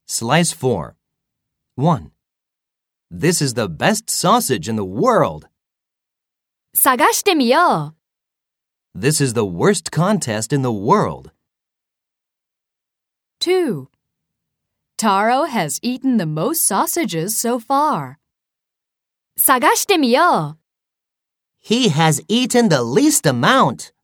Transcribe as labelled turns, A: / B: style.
A: Slice 4. 1. This is the best sausage in the world.
B: 探してみよう。
A: This is the worst contest in the world.
B: 2. Taro has eaten the most sausages so far. 探してみよう。
C: He has eaten the least amount.